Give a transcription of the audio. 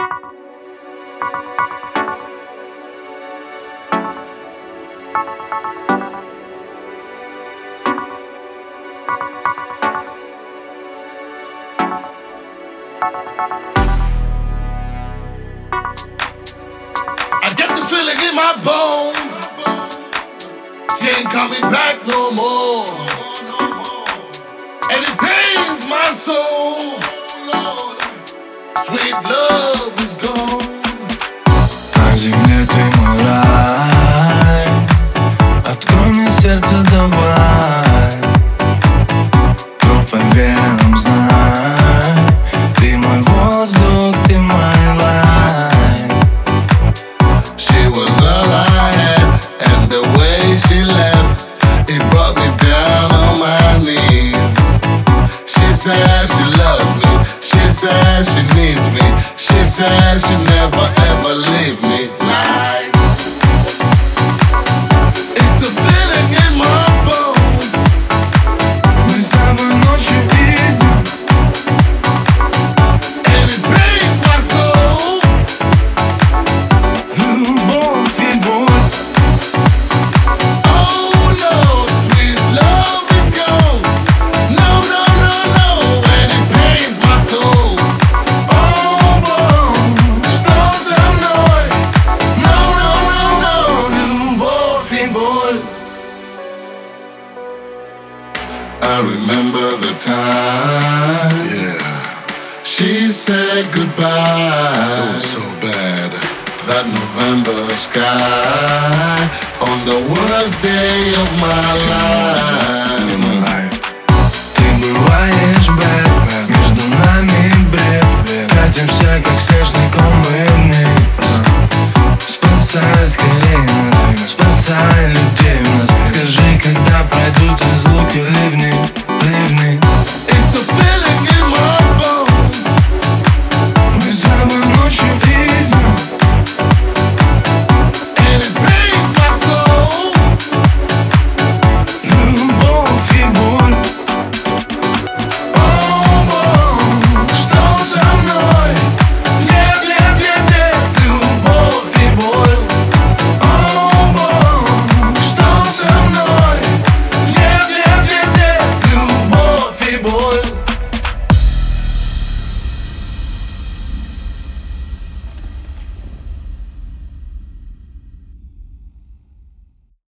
I get this feeling in my bones. She ain't coming back no more, and it pains my soul. Sweet love is gone. На земле ты мой рай, открой мне сердце, давай. Кровь по венам, знай, ты мой воздух, ты мой light. She was all I had, and the way she left, it brought me down on my knees. She says she loves me, she says she needs me, she says she never ever leave me. Lies. It's a feeling in my bones. Мы с тобой ночью и днем, And it pains my soul. любовь и боль. Oh no, sweet love is gone. No, no, no, no, and it pains my soul. Oh boy, что со мной? No, no, no, no, любовь и боль. I remember the time. Yeah. She said goodbye. It was so bad. That November sky on the worst day of my life. Ты бываешь, Бэтмен, между нами бред. Катимся, как снежный ком, мы